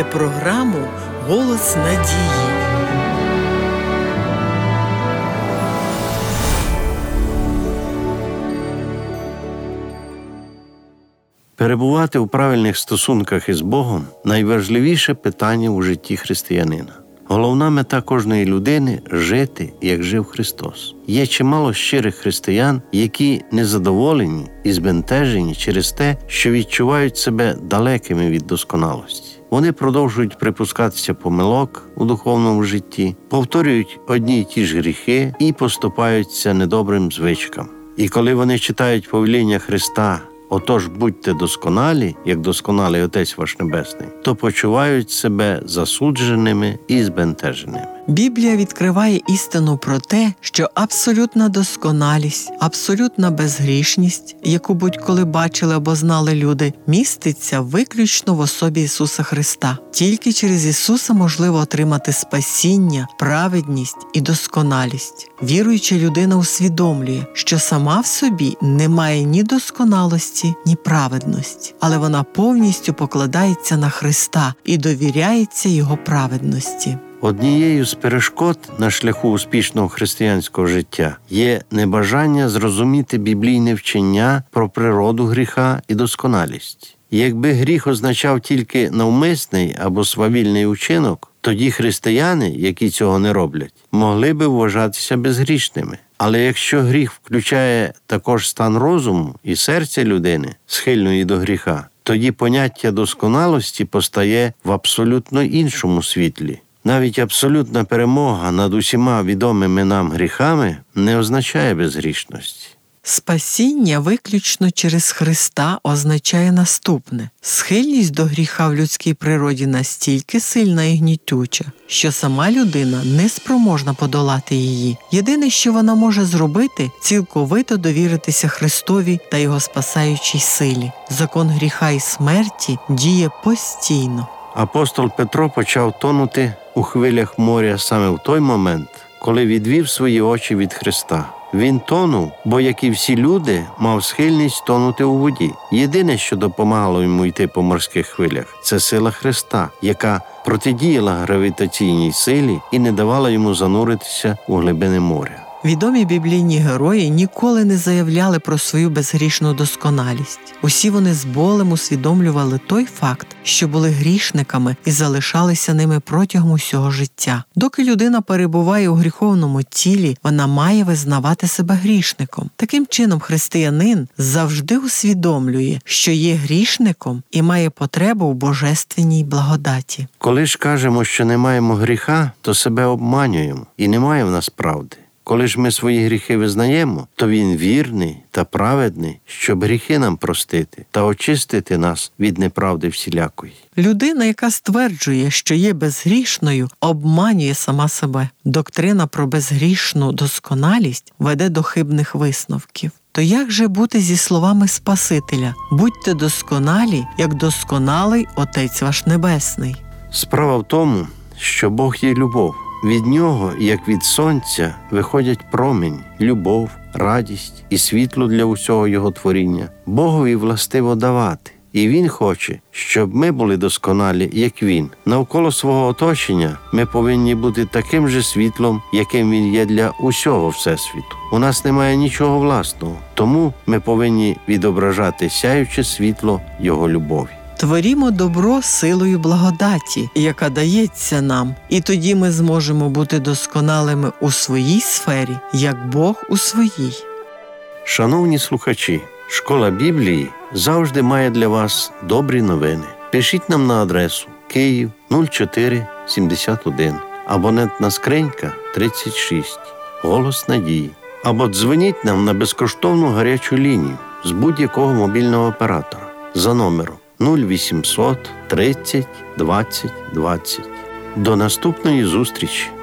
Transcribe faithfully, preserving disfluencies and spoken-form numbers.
програму «Голос надії». Перебувати у правильних стосунках із Богом – найважливіше питання у житті християнина. Головна мета кожної людини – жити, як жив Христос. Є чимало щирих християн, які незадоволені і збентежені через те, що відчувають себе далекими від досконалості. Вони продовжують припускатися помилок у духовному житті, повторюють одні й ті ж гріхи і поступаються недобрим звичкам. І коли вони читають повеління Христа «Отож, будьте досконалі, як досконалий Отець ваш Небесний», то почувають себе засудженими і збентеженими. Біблія відкриває істину про те, що абсолютна досконалість, абсолютна безгрішність, яку будь-коли бачили або знали люди, міститься виключно в особі Ісуса Христа. Тільки через Ісуса можливо отримати спасіння, праведність і досконалість. Віруюча людина усвідомлює, що сама в собі не має ні досконалості, ні праведності, але вона повністю покладається на Христа і довіряється Його праведності. Однією з перешкод на шляху успішного християнського життя є небажання зрозуміти біблійне вчення про природу гріха і досконалість. Якби гріх означав тільки навмисний або свавільний учинок, тоді християни, які цього не роблять, могли би вважатися безгрішними. Але якщо гріх включає також стан розуму і серця людини, схильної до гріха, тоді поняття досконалості постає в абсолютно іншому світлі. Навіть абсолютна перемога над усіма відомими нам гріхами не означає безгрішності. Спасіння виключно через Христа означає наступне. Схильність до гріха в людській природі настільки сильна і гнітюча, що сама людина не спроможна подолати її. Єдине, що вона може зробити – цілковито довіритися Христові та Його спасаючій силі. Закон гріха і смерті діє постійно. Апостол Петро почав тонути у хвилях моря саме в той момент, коли відвів свої очі від Христа. Він тонув, бо, як і всі люди, мав схильність тонути у воді. Єдине, що допомагало йому йти по морських хвилях – це сила Христа, яка протидіяла гравітаційній силі і не давала йому зануритися у глибини моря. Відомі біблійні герої ніколи не заявляли про свою безгрішну досконалість. Усі вони з болем усвідомлювали той факт, що були грішниками і залишалися ними протягом усього життя. Доки людина перебуває у гріховному тілі, вона має визнавати себе грішником. Таким чином, християнин завжди усвідомлює, що є грішником і має потребу в божественній благодаті. Коли ж кажемо, що не маємо гріха, то себе обманюємо, і немає в нас правди. Коли ж ми свої гріхи визнаємо, то Він вірний та праведний, щоб гріхи нам простити та очистити нас від неправди всілякої. Людина, яка стверджує, що є безгрішною, обманює сама себе. Доктрина про безгрішну досконалість веде до хибних висновків. То як же бути зі словами Спасителя «Будьте досконалі, як досконалий Отець ваш Небесний»? Справа в тому, що Бог є любов. Від Нього, як від сонця, виходять промінь, любов, радість і світло для усього Його творіння. Богові властиво давати. І Він хоче, щоб ми були досконалі, як Він. Навколо свого оточення ми повинні бути таким же світлом, яким Він є для усього Всесвіту. У нас немає нічого власного, тому ми повинні відображати сяюче світло Його любові. Творімо добро силою благодаті, яка дається нам, і тоді ми зможемо бути досконалими у своїй сфері, як Бог у своїй. Шановні слухачі, Школа Біблії завжди має для вас добрі новини. Пишіть нам на адресу Київ нуль чотири сімдесят один, абонентна скринька тридцять шість, Голос Надії. Або дзвоніть нам на безкоштовну гарячу лінію з будь-якого мобільного оператора за номером нуль вісімсот тридцять двадцять двадцять. До наступної зустрічі!